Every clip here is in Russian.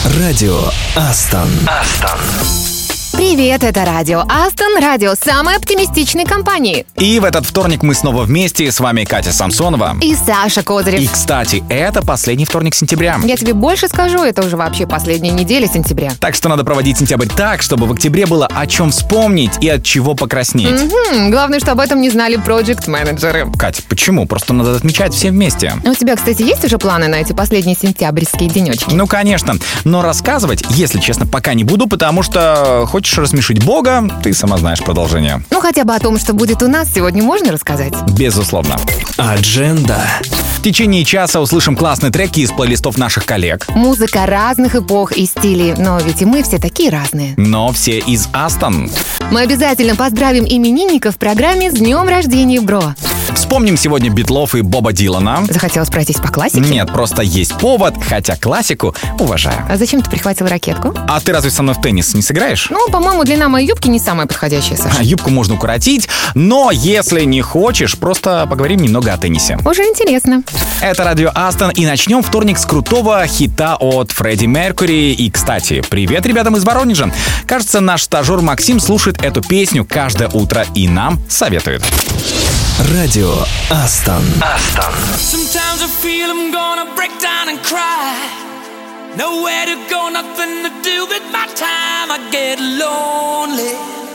Радио Астон. Привет, это Радио Астон, радио самой оптимистичной компании. И в этот вторник мы снова вместе. С вами Катя Самсонова И Саша Козырев. И, кстати, это последний вторник сентября. Я тебе больше скажу, это уже вообще последняя неделя сентября. Так что надо проводить сентябрь так, чтобы в октябре было о чем вспомнить и от чего покраснеть. Главное, что об этом не знали проект-менеджеры. Катя, почему? Просто надо отмечать все вместе. У тебя, кстати, есть уже планы на эти последние сентябрьские денечки? Ну, конечно. Но рассказывать, если честно, пока не буду, потому что хочешь рассмешить Бога, ты сама знаешь продолжение. Ну, хотя бы о том, что будет у нас сегодня, можно рассказать? Безусловно. Адженда. В течение часа услышим классные треки из плейлистов наших коллег. Музыка разных эпох и стилей, но ведь и мы все такие разные. Но все из Астон. Мы обязательно поздравим именинников в программе «С днем рождения, бро». Вспомним сегодня Битлов и Боба Дилана. Захотелось пройтись по классике? Нет, просто есть повод, хотя классику уважаю. А зачем ты прихватил ракетку? А ты разве со мной в теннис не сыграешь? Ну, по-моему, длина моей юбки не самая подходящая, Саша. Юбку можно укоротить, но если не хочешь, просто поговорим немного о теннисе. Уже интересно. Это Радио Астон, и начнем вторник с крутого хита от Фредди Меркьюри. И, кстати, привет ребятам из Воронежа. Кажется, наш стажер Максим слушает эту песню каждое утро и нам советует. Радио Астон. Sometimes I feel I'm gonna break down and cry. Nowhere to go, nothing to do with my time. I get lonely,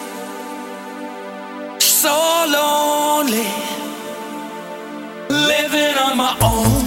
so lonely, living on my own.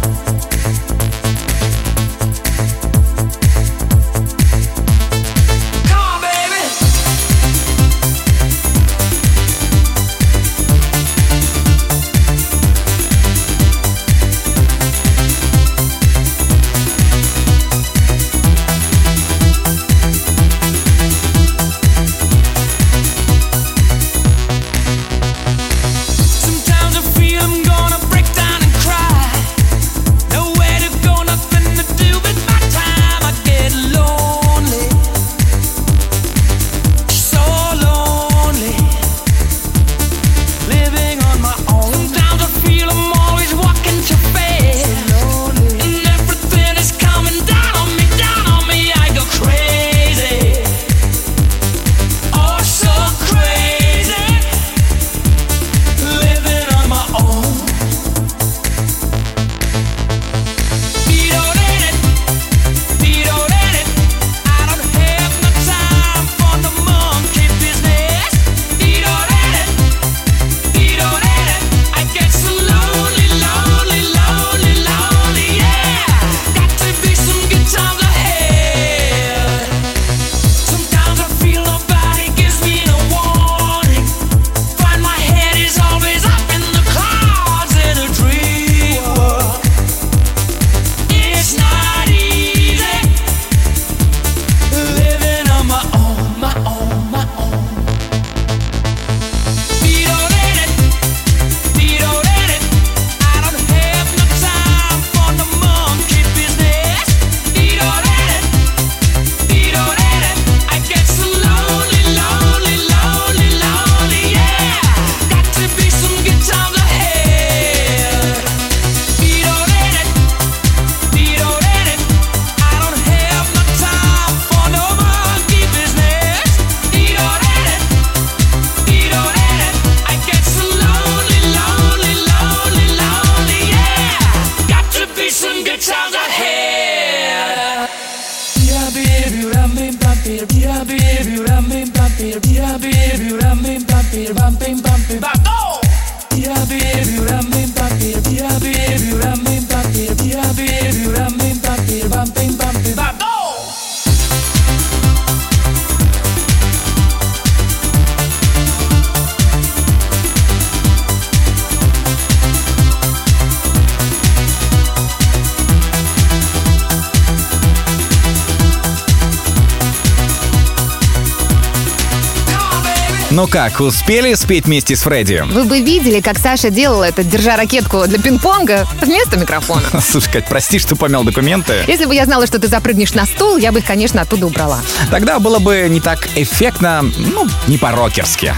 Ну как, успели спеть вместе с Фредди? Вы бы видели, как Саша делала это, держа ракетку для пинг-понга вместо микрофона. Слушай, Кать, прости, что помял документы. Если бы я знала, что ты запрыгнешь на стул, я бы их, конечно, оттуда убрала. Тогда было бы не так эффектно, ну, не по-рокерски.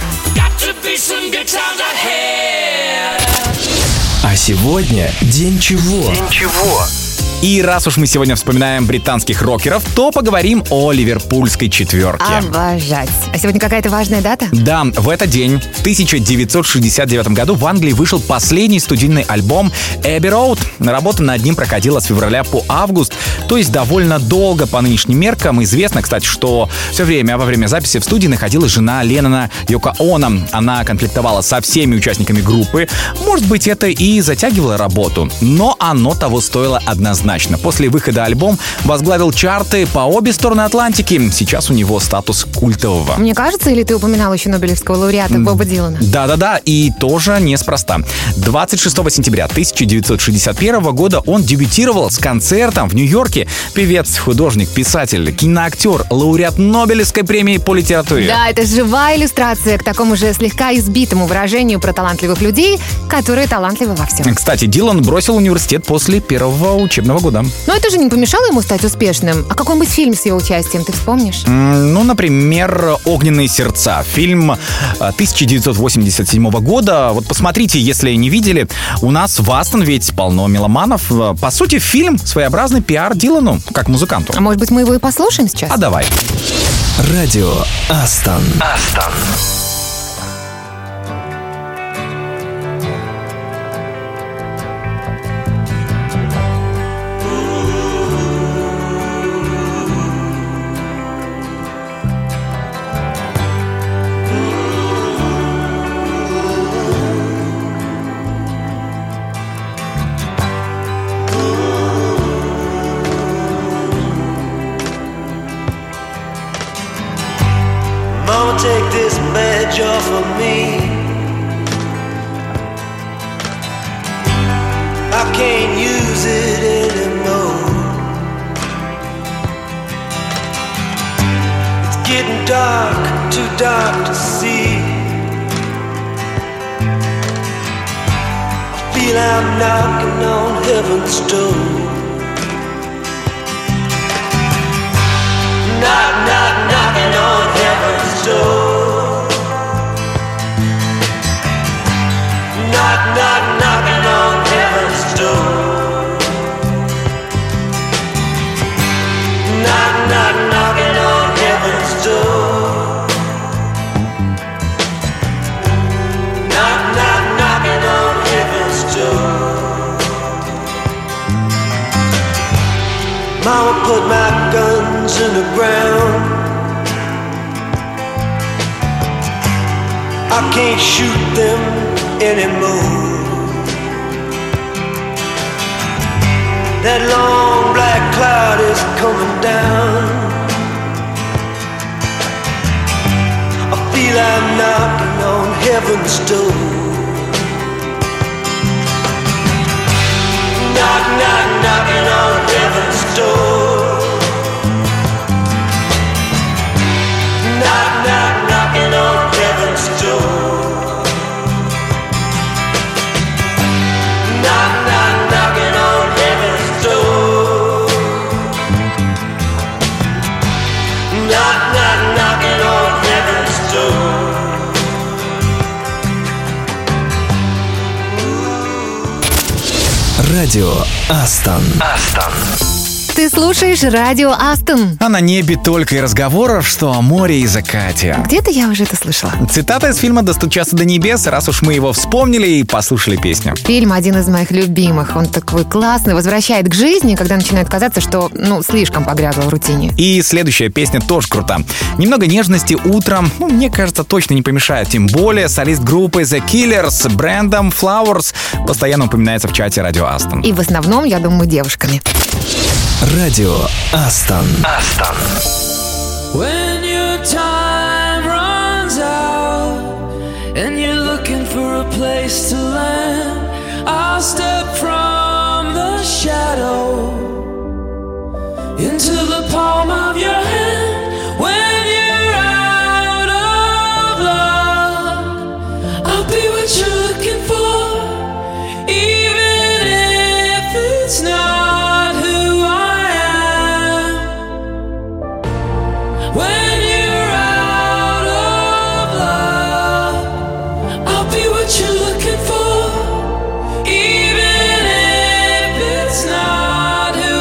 А сегодня день чего? И раз уж мы сегодня вспоминаем британских рокеров, то поговорим о ливерпульской четверке. Обожать. А сегодня какая-то важная дата? Да, в этот день, в 1969 году, в Англии вышел последний студийный альбом Abbey Road. Работа над ним проходила с февраля по август, то есть довольно долго по нынешним меркам. Известно, кстати, что все время во время записи в студии находилась жена Леннона Йоко Оно. Она конфликтовала со всеми участниками группы. Может быть, это и затягивало работу, но оно того стоило однозначно. После выхода альбом возглавил чарты по обе стороны Атлантики. Сейчас у него статус культового. Мне кажется, или ты упоминал еще Нобелевского лауреата Боба Дилана? Да, и тоже неспроста. 26 сентября 1961 года он дебютировал с концертом в Нью-Йорке. Певец, художник, писатель, киноактер, лауреат Нобелевской премии по литературе. Да, это живая иллюстрация к такому же слегка избитому выражению про талантливых людей, которые талантливы во всем. Кстати, Дилан бросил университет после первого учебного года. Но это же не помешало ему стать успешным. А какой-нибудь фильм с его участием ты вспомнишь? Ну, например, «Огненные сердца». Фильм 1987 года. Вот посмотрите, если не видели. У нас в Астон ведь полно меломанов. По сути, фильм своеобразный пиар Дилану, как музыканту. А может быть, мы его и послушаем сейчас? А давай. Радио Астон. Mama, take this badge off of me. I can't use it anymore. It's getting dark, too dark to see. I feel I'm knocking on heaven's door. Knock, knock, knocking on heaven's door. Knock, knock, knocking on heaven's door. Knock, knock, knocking on heaven's door. Knock, knock, knocking on heaven's door. Mama put my guns in the ground. I can't shoot them anymore. That long black cloud is coming down. I feel I'm knocking on heaven's door. Knock, knock, knocking on heaven's door. Knock, knock, knocking on heaven's door. Knock, knock, knocking on heaven's door. Knock, knock, knocking on heaven's door. Радио Астон. Ты слушаешь радио Астон. А на небе только и разговоров, что о море и закате. Где-то я уже это слышала. Цитата из фильма «Достучаться до небес», раз уж мы его вспомнили и послушали песню. Фильм один из моих любимых. Он такой классный, возвращает к жизни, когда начинает казаться, что, слишком погрязла в рутине. И следующая песня тоже крута. Немного нежности утром, мне кажется, точно не помешает. Тем более солист группы The Killers Брэндон Флауэрс постоянно упоминается в чате радио Астон. И в основном, я думаю, девушками. Радио Астон. When your time runs out and you're looking for a place to land, I'll step from the shadow into the palm of your hand. When you're out of love, I'll be what you're looking for, even if it's not who I am. When you're out of love, I'll be what you're looking for, even if it's not who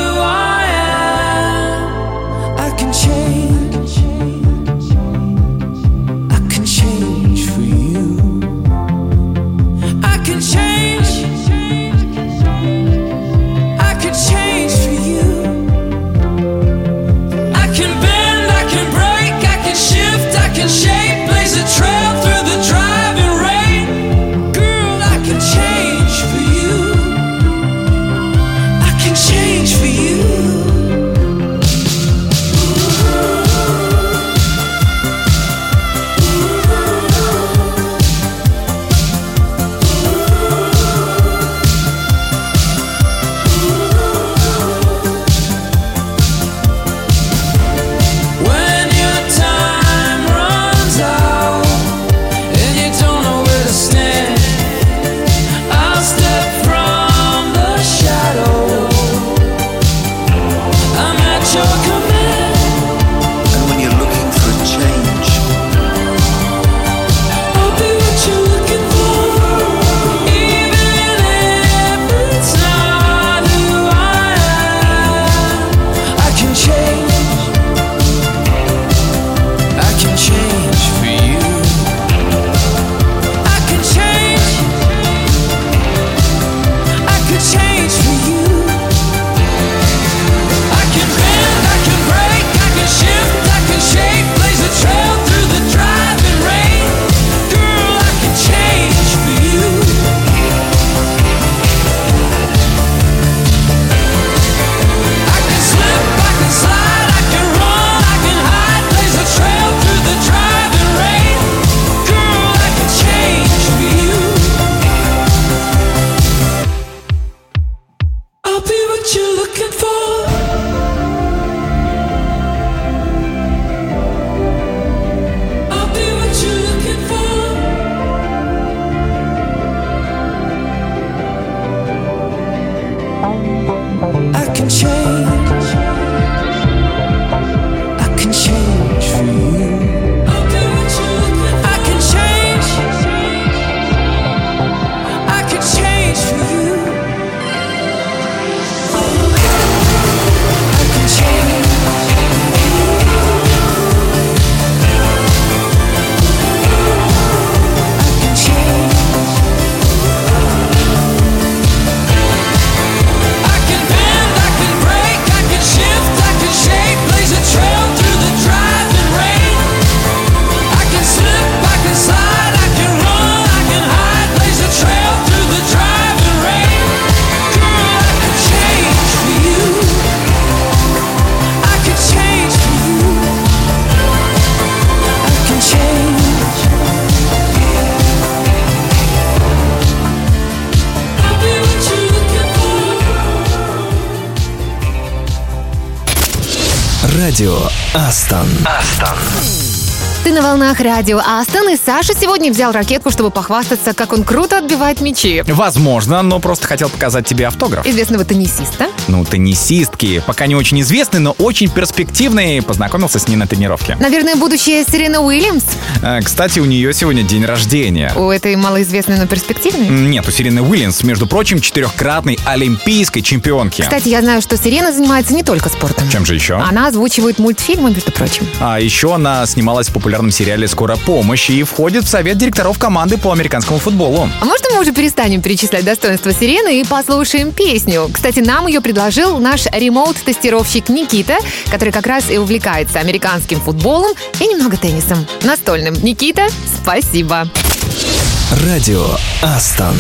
Радио Астон. Ты на волнах радио Астон, и Саша сегодня взял ракетку, чтобы похвастаться, как он круто отбивает мячи. Возможно, но просто хотел показать тебе автограф. Известного теннисиста. Теннисистки, пока не очень известный, но очень перспективный. Познакомился с ней на тренировке. Наверное, будущая Серена Уильямс. Кстати, у нее сегодня день рождения. У этой малоизвестной, но перспективной. Нет, у Серены Уильямс, между прочим, 4-кратной олимпийской чемпионки. Кстати, я знаю, что Серена занимается не только спортом. Чем же еще? Она озвучивает мультфильмы, между прочим. А еще она снималась в популярном сериале «Скорая помощь» и входит в совет директоров команды по американскому футболу. А можно мы уже перестанем перечислять достоинства Сирены и послушаем песню? Кстати, нам ее предложил наш ремоут-тестировщик Никита, который как раз и увлекается американским футболом и немного теннисом настольным. Никита, спасибо. Радио Астон.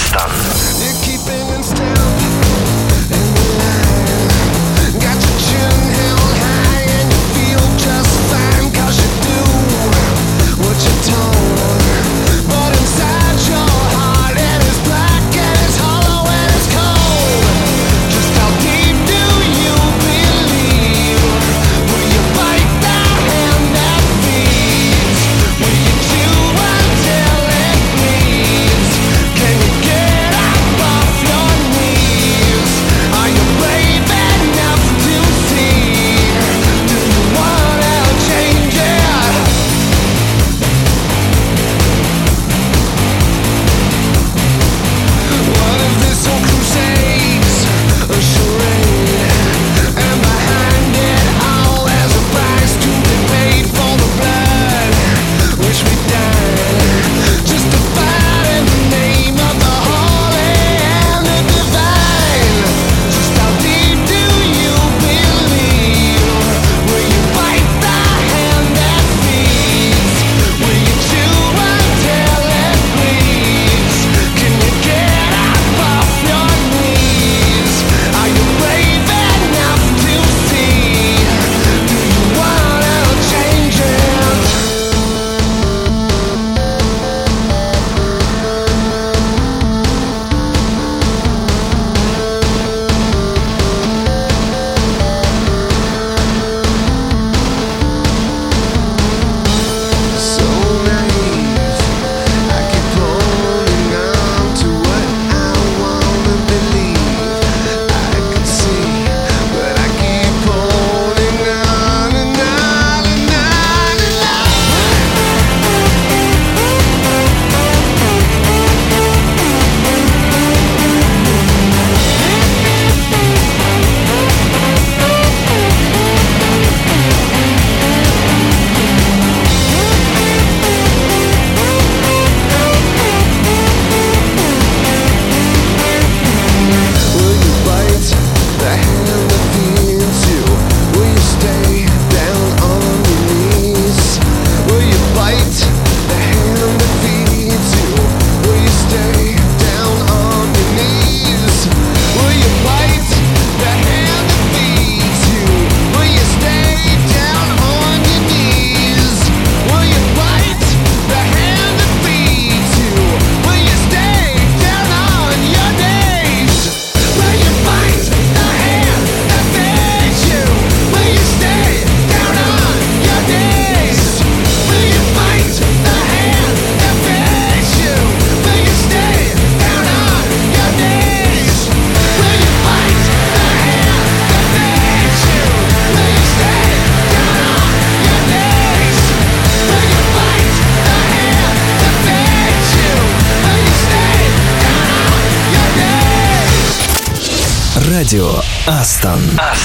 Радио Астон.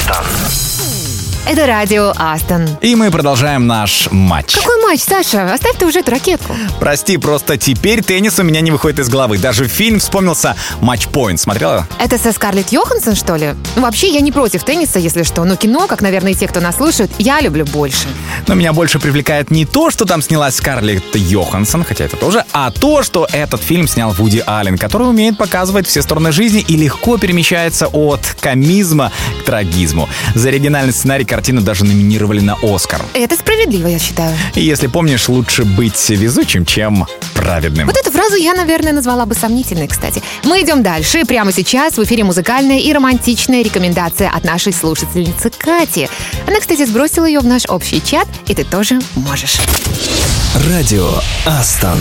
Это радио Астон. И мы продолжаем наш матч. Какой матч, Саша? Оставь ты уже эту ракетку. Прости, просто теперь теннис у меня не выходит из головы. Даже фильм вспомнился «Матч Пойнт». Смотрела? Это со Скарлетт Йоханссон, что ли? Вообще, я не против тенниса, если что. Но кино, как, наверное, и те, кто нас слушает, я люблю больше. Но меня больше привлекает не то, что там снялась Скарлетт Йоханссон, хотя это тоже, а то, что этот фильм снял Вуди Аллен, который умеет показывать все стороны жизни и легко перемещается от комизма к трагизму. За оригинальный сценарий картину даже номинировали на «Оскар». Это справедливо, я считаю. И если помнишь, лучше быть везучим, чем праведным. Вот эту фразу я, наверное, назвала бы сомнительной, кстати. Мы идем дальше. Прямо сейчас в эфире музыкальная и романтичная рекомендация от нашей слушательницы Кати. Она, кстати, сбросила ее в наш общий чат, и ты тоже можешь. Радио Астон.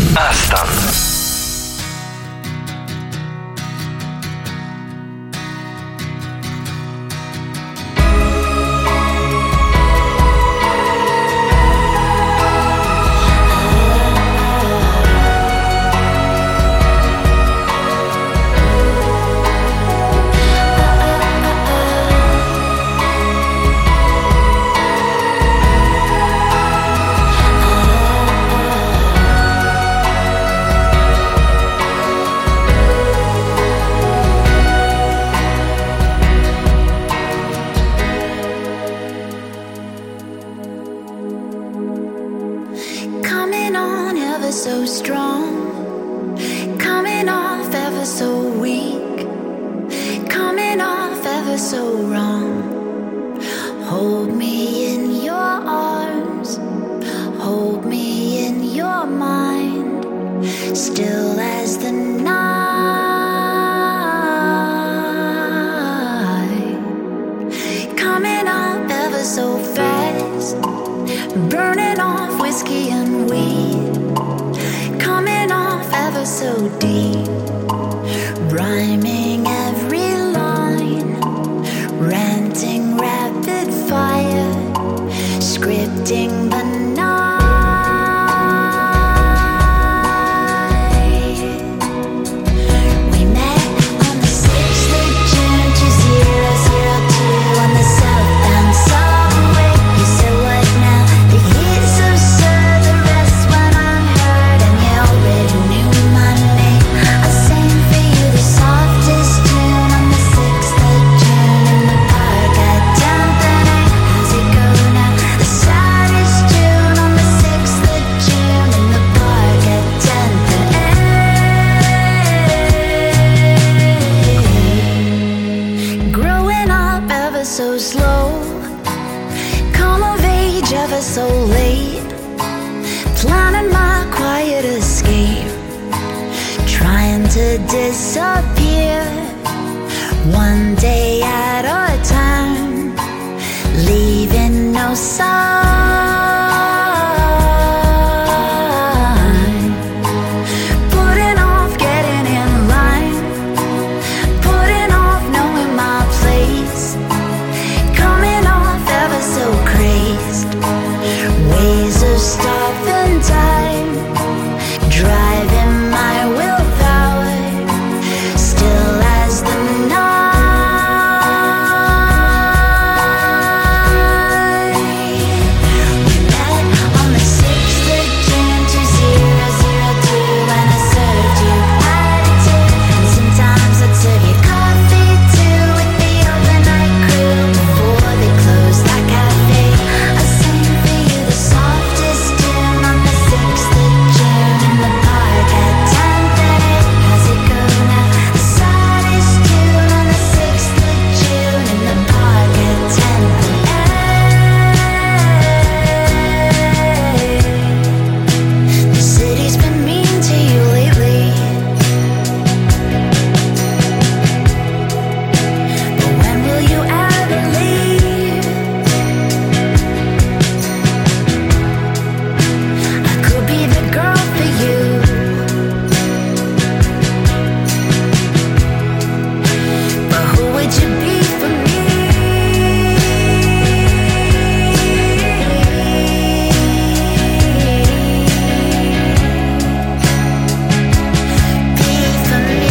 Coming on ever so strong, coming off ever so weak, coming off ever so wrong. Hold me in your arms, hold me in your mind, still as the night. Coming up ever so fast, burning off whiskey and weed, coming off ever so deep, rhyming every line, ranting rapid fire, scripting the night. We met on the 6th of June 2002 on the southbound subway. You said what now? The heat's absurd, the rest went unheard, and you already knew my name. I sang for you the softest tune on the 6th of June in the park at 10th and 8th. How's it go now? The saddest tune on the 6th of June in the park at 10th and 8th. Growing up ever so slow, come of age ever so late, planning my quiet escape, trying to disappear one day at a time, leaving no sign, putting off getting in line, putting off knowing my place, coming off ever so crazed, ways of stopping time, driving my willpower, still as the night. We met on the 6th of June 2002 when I served you attitude, and sometimes I'd serve you coffee too with the overnight crew before they closed that cafe. I sang for you the softest tune on the 6th of June in the park at 10th and 8th. How's it go now? The saddest tune on the 6th of June in the park at 10th and 8th. The city's been mean to you lately, but when will you ever leave? I could be the girl for you, but who would you be for me? Be for me.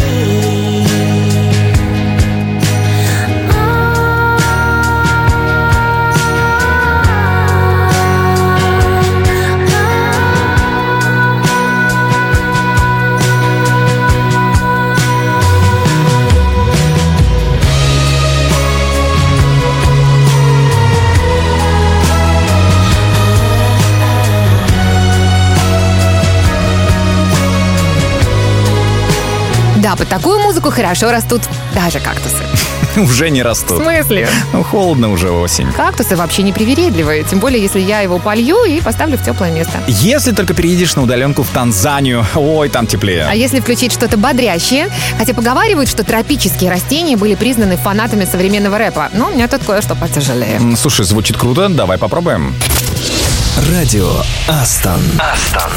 Да, под такую музыку хорошо растут даже кактусы. уже не В растут. смысле? Ну, холодно уже осень. Кактусы вообще непривередливые, тем более, если я его полью и поставлю в теплое место. Если только переедешь на удаленку в Танзанию, ой, там теплее. А если включить что-то бодрящее? Хотя поговаривают, что тропические растения были признаны фанатами современного рэпа. Но у меня тут кое-что потяжелее. Слушай, звучит круто, давай попробуем. Радио Астон. Астон.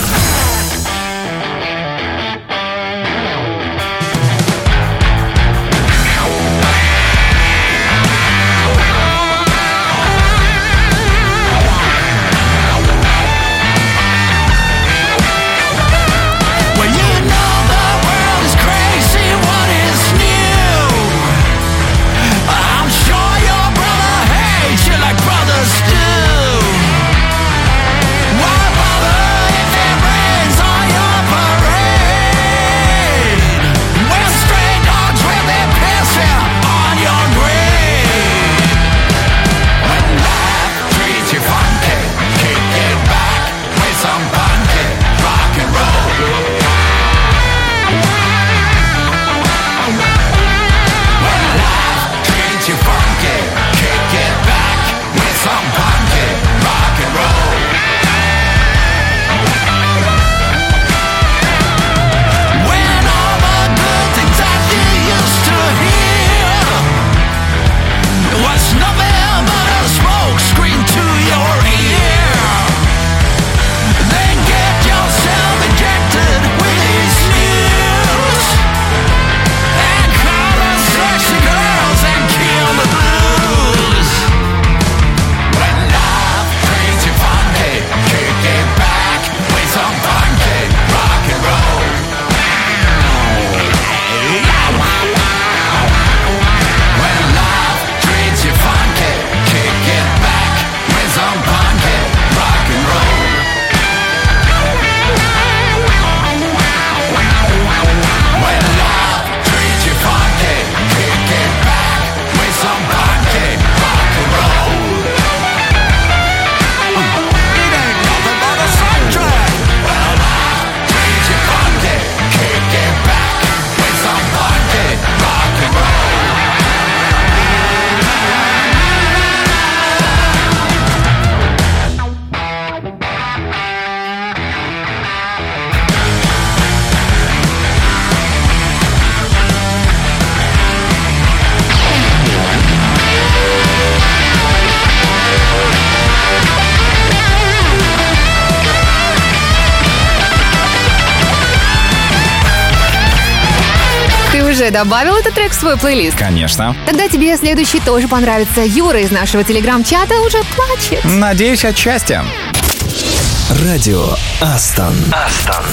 Уже добавил этот трек в свой плейлист? Конечно. Тогда тебе следующий тоже понравится. Юра из нашего телеграм-чата уже плачет. Надеюсь, от счастья. Радио Астон. Астон.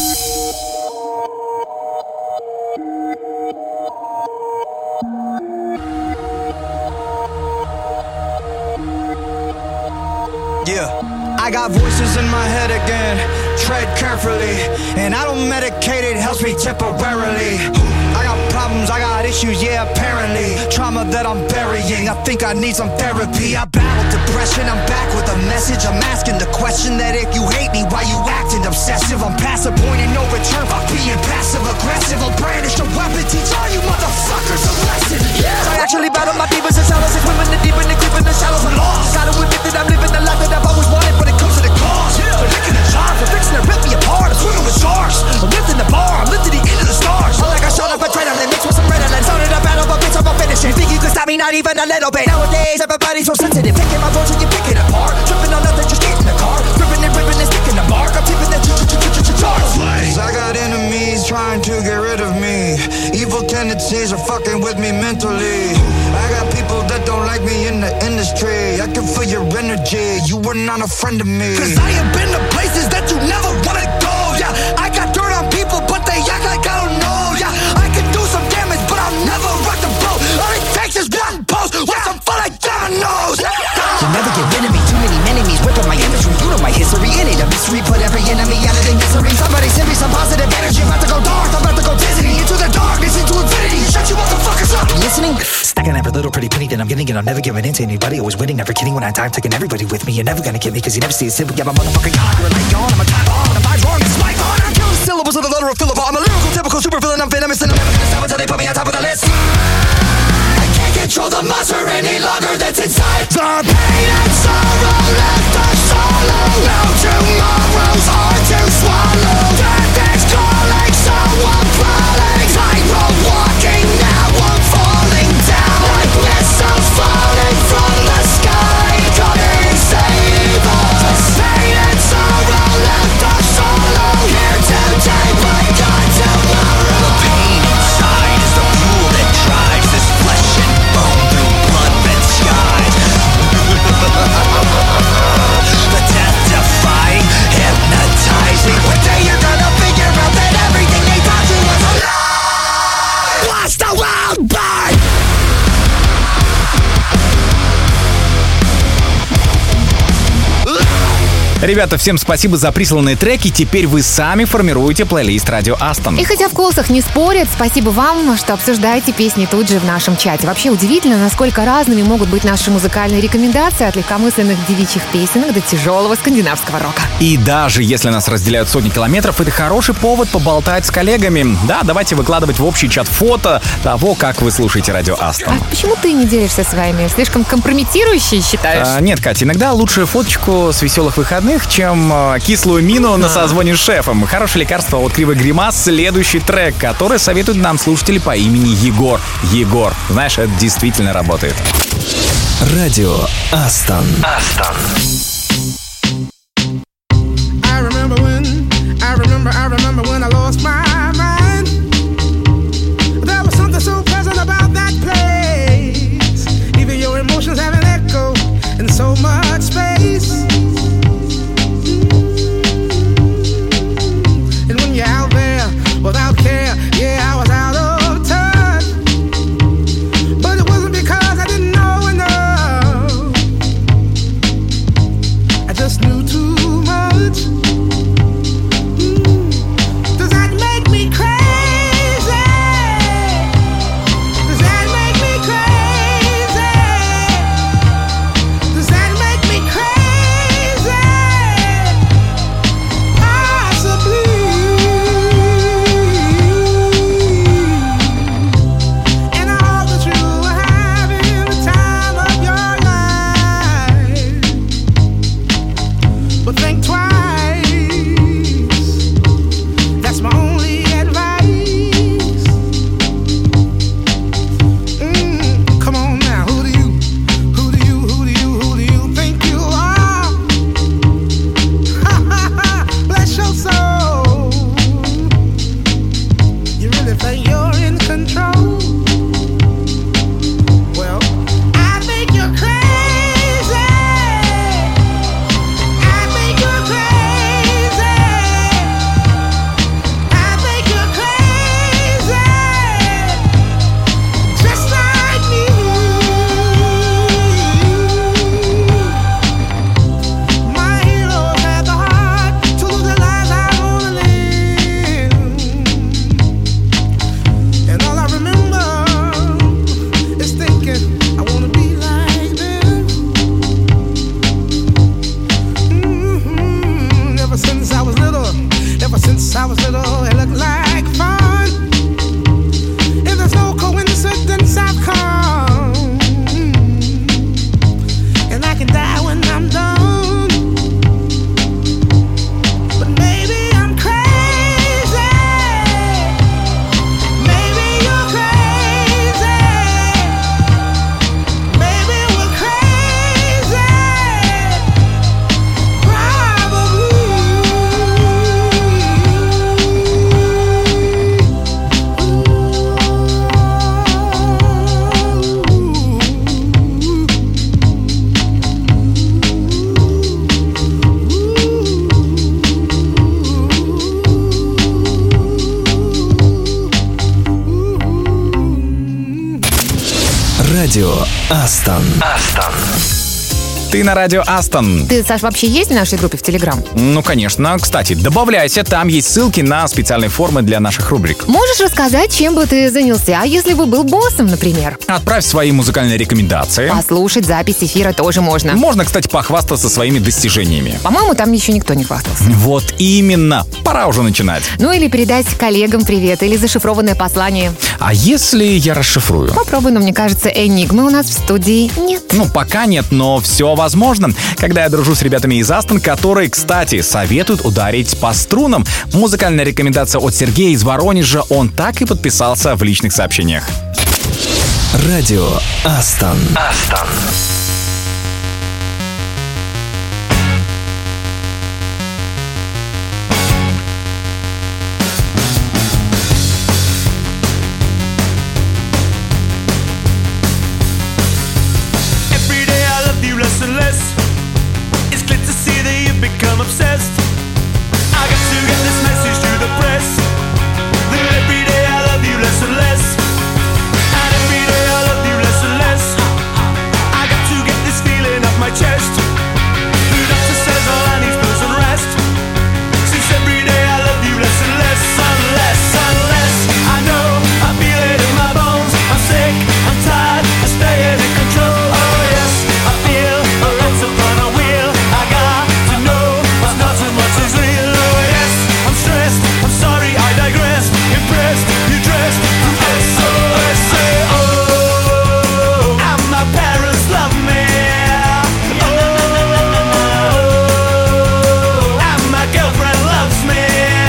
Yeah, I got voices in my head again. Tread carefully, and I don't medicate, it helps me temporarily. I got problems, I got issues, yeah, apparently. Trauma that I'm burying, I think I need some therapy. I battled depression, I'm back with a message. I'm asking the question that if you hate me, why you acting obsessive? I'm past the point of no return by being passive aggressive. I'll brandish a weapon, teach all you motherfuckers a lesson. Yeah. I actually battle my demons and shadows, and women the deep and the creep in the shadows. I'm lost. Gotta admit that I'm living the life that I've always wanted, but it comes to the cost. Yeah. They're licking the jar, they're fixing to rip me apart. I'm swimming with sharks. I'm lifting the bar, I'm lifting the end of the stars. I'm like I shot up a adrenaline, mixed with some Ritalin. Started a battle, but bitch, I'm gonna finish it. Think you can stop me, not even a little bit. Nowadays, everybody's so sensitive. Picking my voice and you pick it apart. Tripping on nothing, just get in the car. Ripping and sticking the mark. I'm tipping the charts. I got enemies trying to get rid of me. Evil tendencies are fucking with me mentally. I got people that don't like me in the industry. I can feel your energy, you were not a friend of me. Cause I have been to places that you never wanna go. Yeah, I got dirt on people, but they act like I don't know. Yeah, I can do some damage, but I'll never rock the boat. All it takes is one post, watch them fall like dominoes. You'll never get rid of me, too many enemies whipping my imagery. You know my history, it ain't a mystery. Put every enemy out of their misery. Somebody send me some positive energy. I'm about to go dark, I'm about to go dizzy. Into the darkness, into infinity. Shut you motherfuckers up. You listening? Stacking every little pretty penny that I'm getting, and I'm never giving in to anybody. Always winning, never kidding when I die. I'm taking everybody with me. You're never gonna get me, cause you never see a simple. Yeah, my motherfucking God, you're a light gone. I'm a time bomb, and the vibe's wrong. It's my God. I'm killing syllables of the letter of Philip. I'm a lyrical, typical super villain. I'm venomous, and I'm never gonna stop until they put me on top of the list. I can't control the monster any longer that's inside. The pain and sorrow left us hollow. Now tomorrow's hard to swallow. Death is calling, so I'm crawling. Tightrope walking, now I'm falling down. Like missiles falling from the sky. Come and save us. Pain and sorrow left us hollow. Here today, but gone tomorrow. The pain inside is the fuel that drives this flesh and bone through blood-red skies. The death-defying, hypnotizing. One day you're gonna figure out that everything they taught you was a lie. Watch the world burn. Ребята, всем спасибо за присланные треки. Теперь вы сами формируете плейлист Радио Астон. И хотя в колсах не спорят, спасибо вам, что обсуждаете песни тут же в нашем чате. Вообще удивительно, насколько разными могут быть наши музыкальные рекомендации от легкомысленных девичьих песенок до тяжелого скандинавского рока. И даже если нас разделяют сотни километров, это хороший повод поболтать с коллегами. Да, давайте выкладывать в общий чат фото того, как вы слушаете Радио Астон. А почему ты не делишься своими? Слишком компрометирующие считаешь? Нет, Катя, иногда лучше фоточку с веселых выходных, чем кислую мину на созвоне с шефом. Хорошее лекарство от Кривой Гримас. Следующий трек, который советуют нам слушатели по имени Егор. Егор, знаешь, это действительно работает. Радио Астон. I remember when I lost my mind. There was something so pleasant about that place. Even your emotions have an echo in so much space. And when you're out there without care, yeah, I was out of touch. But it wasn't because I didn't know enough. I just knew too much. Does that make me crazy? Does that make me crazy? Does that make me crazy? Possibly. And I hope that you are having the time of your life. But think twice. That's my only advice. Come on now, who do you think you are? Bless your soul. You really think you're in control? Well, I think you're crazy. I think you're crazy. I think you're crazy. Just like me. My heroes had the heart to lose their lives. I wanna live. And all I remember is thinking I wanna be like them. Ever since I was little, it looked like fun. And there's no coincidence I've come. And I can die when I'm done. But maybe I'm crazy. Maybe you're crazy. Maybe we're crazy. Радио Астон. Ты на радио Астон. Ты, Саш, вообще есть в нашей группе в Телеграм? Ну, конечно. Кстати, добавляйся, там есть ссылки на специальные формы для наших рубрик. Можешь рассказать, чем бы ты занялся, если бы был боссом, например? Отправь свои музыкальные рекомендации. Послушать запись эфира тоже можно. Можно, кстати, похвастаться своими достижениями. По-моему, там еще никто не хвастался. Вот именно. Пора уже начинать. Ну или передать коллегам привет, или зашифрованное послание. А если я расшифрую? Попробуй, но мне кажется, энигмы у нас в студии нет. Ну, пока нет, но все возможно. Когда я дружу с ребятами из Астон, которые, кстати, советуют ударить по струнам. Музыкальная рекомендация от Сергея из Воронежа. Он так и подписался в личных сообщениях. Радио Астон. Every day I love you less and less. It's clear to see that you've become obsessed. I got to get this message to the press. That every day I love you less and less. And every day I love you less and less. I got to get this feeling off my chest. The doctor says all I need is pills and rest. Since every day I love you less and less, unless I know I feel it in my bones. I'm sick, I'm tired, I'm staying in control. Oh yes, I feel a lot's upon a wheel. I got to know what's not and what is real. Oh yes, I'm stressed, I'm sorry, I digress. Impressed, you dressed to SOS. Oh, and my parents love me. Oh, and my girlfriend loves me.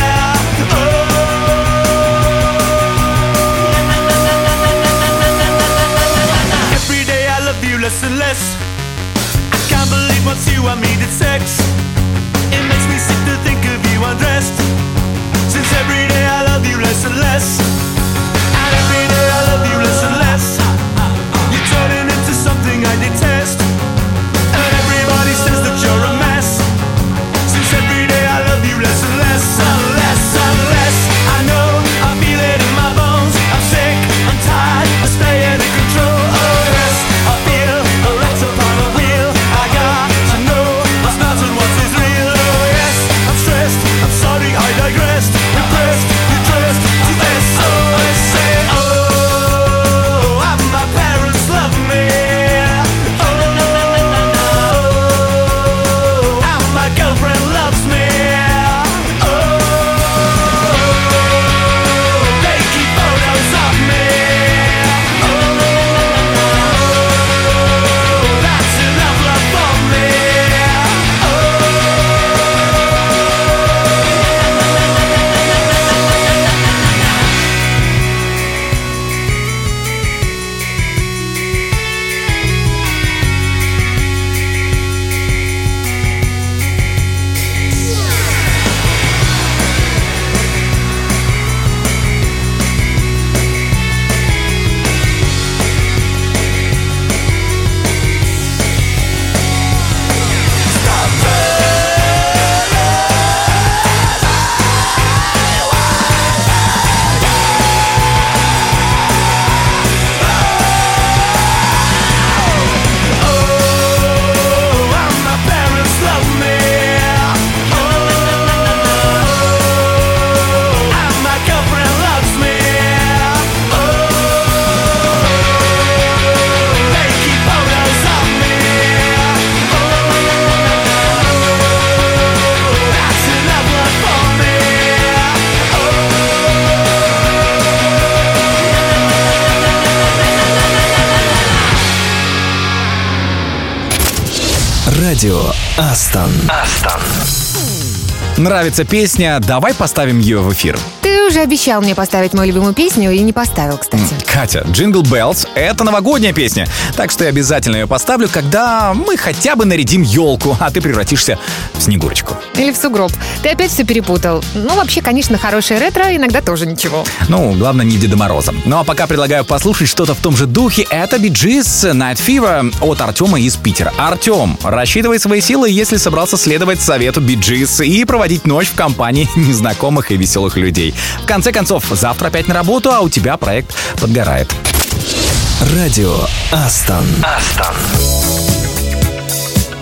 Every day I love you less and less. I can't believe once you and me did sex. It makes me sick to think of you undressed. Since every day I love you less and less. And every day I love you less and less. You're turning into something I detest. And everybody says that you're a mess. Since every day I love you less and less. Unless I know I feel it in my bones. I'm sick, I'm tired, I'm staying in control. Oh yes, I feel a rat's upon a wheel. I got to know what's not and what is real. Oh yes, I'm stressed, I'm sorry, I digressed. Impressed, you dressed to SOS. Say oh, and my parents love me. Oh, and my girlfriend loves me. Oh, they keep photos of me. Oh, that's enough love for me. Oh, and my parents love me. Oh, and my girlfriend loves me. Oh, they keep photos of me. Oh, that's enough love for me. Радио Астон. Нравится песня? Давай поставим ее в эфир. Ты уже обещал мне поставить мою любимую песню и не поставил, кстати. Катя, Jingle Bells — это новогодняя песня. Так что я обязательно ее поставлю, когда мы хотя бы нарядим елку, а ты превратишься в Снегурочку. Или в сугроб. Ты опять все перепутал. Ну, вообще, конечно, хорошее ретро иногда тоже ничего. Ну, главное, не Деда Мороза. Ну, а пока предлагаю послушать что-то в том же духе. Это Bee Gees Night Fever от Артема из Питера. Артем, рассчитывай свои силы, если собрался следовать совету Bee Gees и проводить ночь в компании незнакомых и веселых людей. В конце концов, завтра опять на работу, а у тебя проект подгорает. Радио Астон.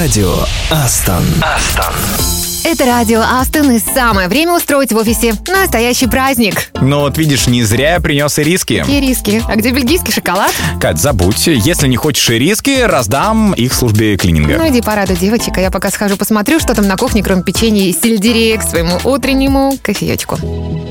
Радио Астон. Это радио Астон, и самое время устроить в офисе настоящий праздник. Ну вот видишь, не зря я принес ириски. Ириски. А где бельгийский шоколад? Кать, забудь. Если не хочешь ириски, раздам их службе клининга. Ну иди порадуй девочек, а я пока схожу посмотрю, что там на кухне, кроме печенья и сельдерея, к своему утреннему кофеечку.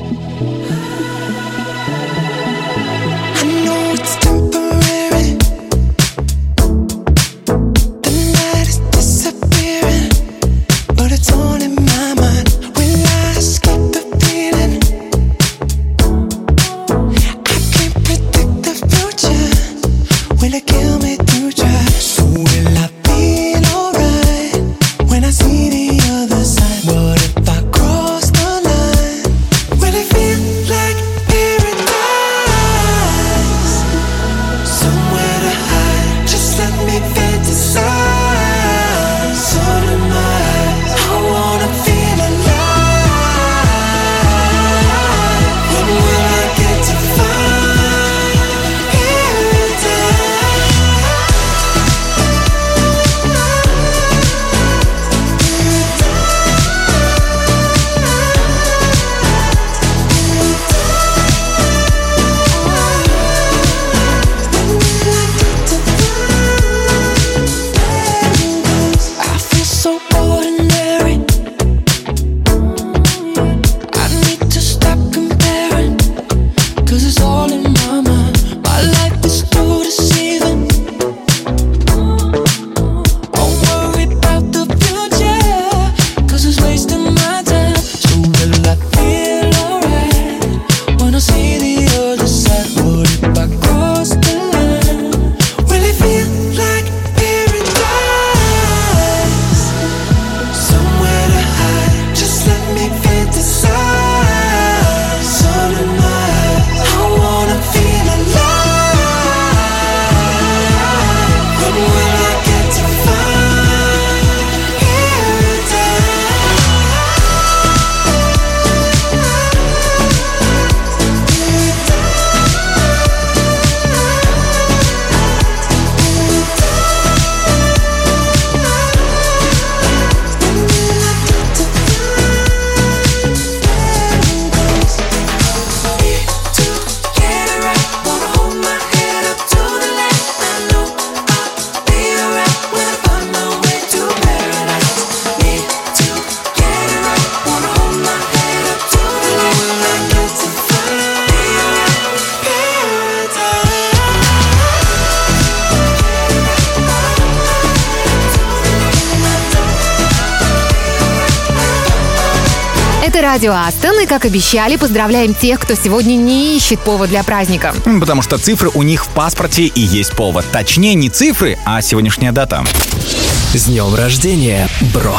Это радио Астон, и, как обещали, поздравляем тех, кто сегодня не ищет повод для праздника. Потому что цифры у них в паспорте и есть повод. Точнее, не цифры, а сегодняшняя дата. С днем рождения, бро!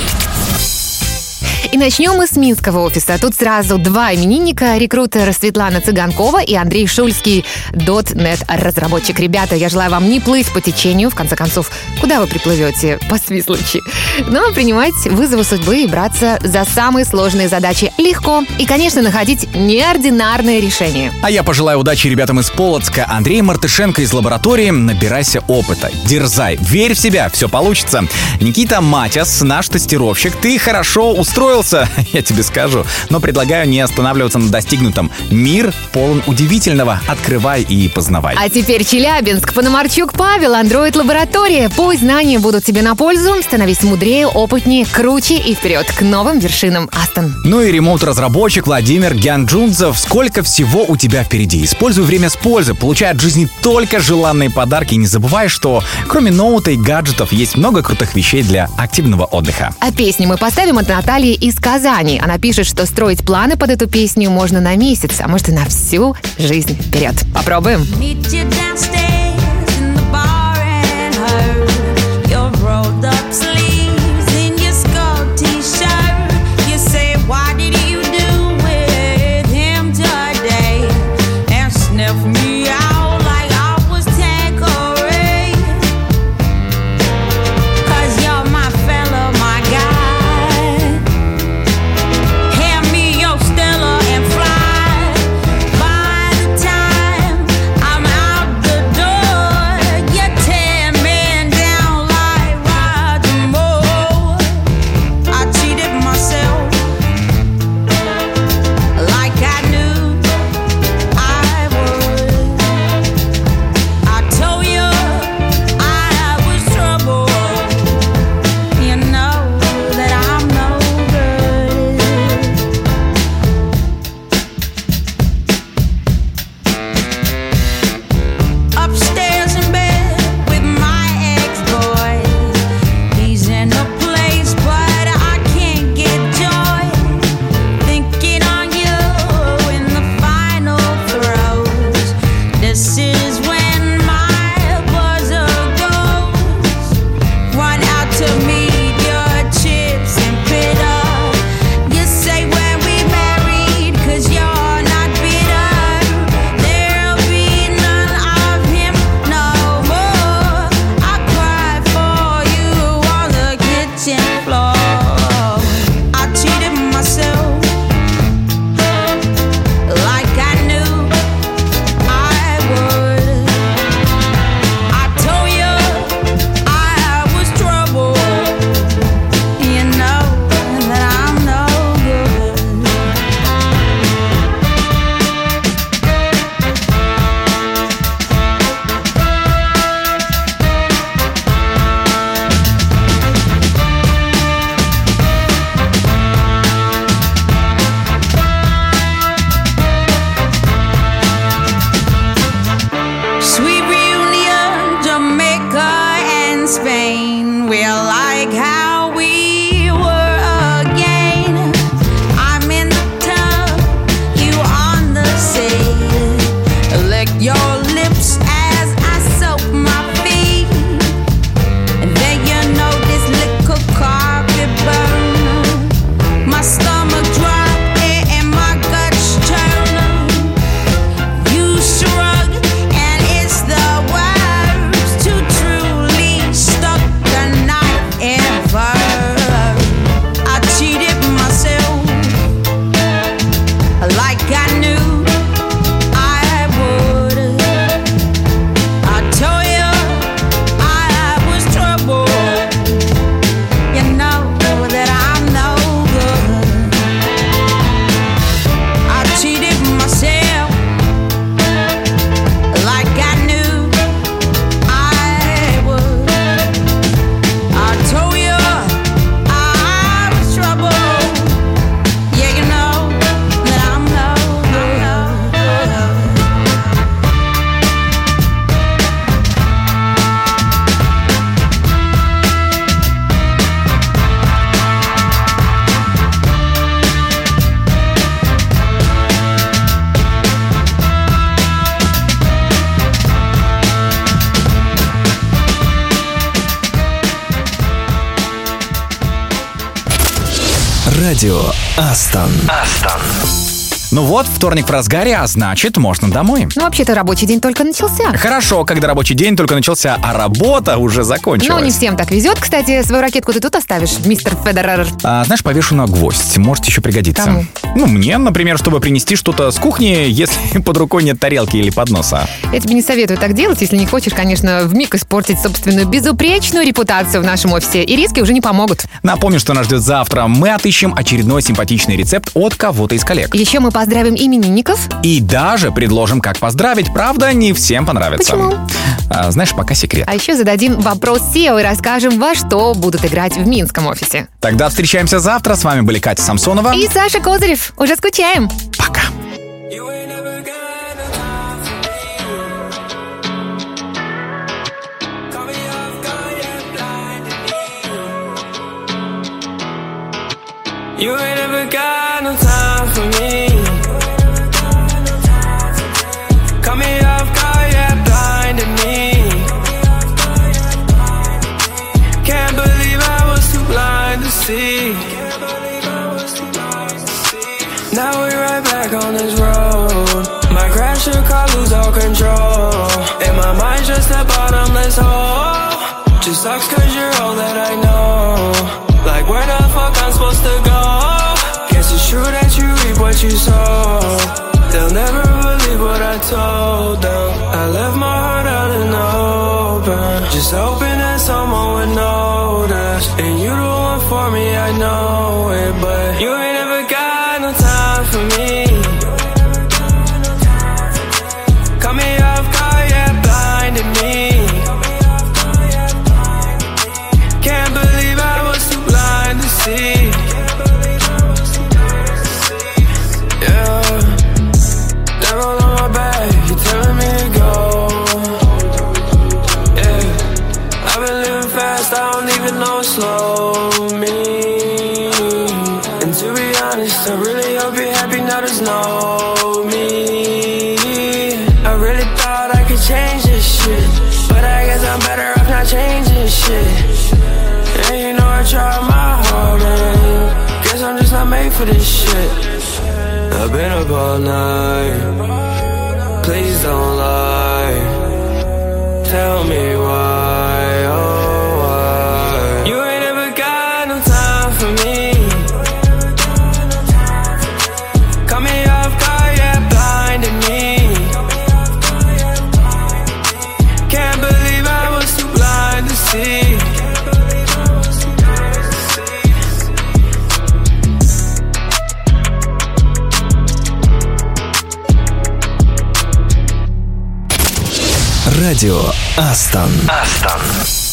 И начнем мы с минского офиса. Тут сразу два именинника. Рекрутер Светлана Цыганкова и Андрей Шульский, .NET-разработчик. Ребята, я желаю вам не плыть по течению. В конце концов, куда вы приплывете? По Свислочи. Но принимать вызовы судьбы и браться за самые сложные задачи легко. И, конечно, находить неординарные решения. А я пожелаю удачи ребятам из Полоцка. Андрей Мартышенко из лаборатории. Набирайся опыта. Дерзай. Верь в себя. Все получится. Никита Матяс, наш тестировщик. Ты хорошо устроился, я тебе скажу. Но предлагаю не останавливаться на достигнутом. Мир полон удивительного. Открывай и познавай. А теперь Челябинск. Пономарчук Павел, Android-лаборатория. Пусть знания будут тебе на пользу. Становись мудрее, опытнее, круче и вперед к новым вершинам, Астон. Ну и ремоут-разработчик Владимир Гянджунцев. Сколько всего у тебя впереди. Используй время с пользой. Получай от жизни только желанные подарки. И не забывай, что кроме ноута и гаджетов есть много крутых вещей для активного отдыха. А песню мы поставим от Натальи из Казани. Она пишет, что строить планы под эту песню можно на месяц, а может и на всю жизнь вперед. Попробуем. I'm out the door. Радио Астон. Ну вот, вторник в разгаре, а значит, можно домой. Ну, вообще-то рабочий день только начался. Хорошо, когда рабочий день только начался, а работа уже закончилась. Ну, не всем так везет. Кстати, свою ракетку ты тут оставишь, мистер Федерер? Знаешь, повешу на гвоздь. Может еще пригодится. Кому? Ну, мне, например, чтобы принести что-то с кухни, если под рукой нет тарелки или подноса. Я тебе не советую так делать, если не хочешь, конечно, вмиг испортить собственную безупречную репутацию в нашем офисе. И риски уже не помогут. Напомню, что нас ждет завтра. Мы отыщем очередной симпатичный рецепт от кого-то из коллег. Еще мы поздравим именинников. И даже предложим, как поздравить. Правда, не всем понравится. Почему? Знаешь, пока секрет. А еще зададим вопрос SEO и расскажем, во что будут играть в минском офисе. Тогда встречаемся завтра. С вами были Катя Самсонова И Саша Козырев. Уже скучаем. Пока. You ain't ever got no time for me. Caught me off guard, yeah, blinded me. Can't believe I was too blind to see. Now we right back on this road. My crash your car, lose all control. And my mind's just a bottomless hole. Just sucks cause you're all that I know. Like where the fuck I'm supposed to go? Guess it's true that you reap what you sow. They'll never believe what I told them. I left my heart out in the open, just hoping that someone would notice. And you the one for me, I know it. But you ain't ever got no time for me. Caught me off guard, yeah, blinded me. Can't believe I was too blind to see. Yeah, devil on my back, you telling me to go. Yeah, I've been living fast, I don't even know slow me. And to be honest, I really hope you're happy now there's no me. I really thought I could change this shit, but I guess I'm better off not changing shit. And you know I tried my hardest. Guess I'm just not made for this shit. I've been up all night. Please don't lie. Tell me why, oh why. You ain't ever got no time for me. Caught me off guard, yeah, blinded me. Can't believe I was too blind to see. Радио Астон.